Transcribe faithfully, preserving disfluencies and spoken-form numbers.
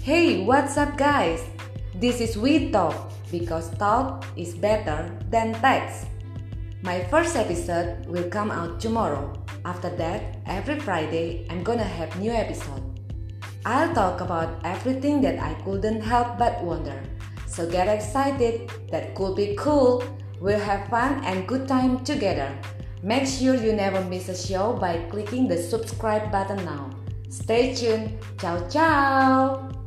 Hey, what's up, guys? This is We Talk because talk is better than text. My first episode will come out tomorrow. After that, every Friday, I'm gonna have new episode. I'll talk about everything that I couldn't help but wonder. So get excited, that could be cool. We'll have fun and good time together. Make sure you never miss a show by clicking the subscribe button now. Stay tuned. Ciao ciao.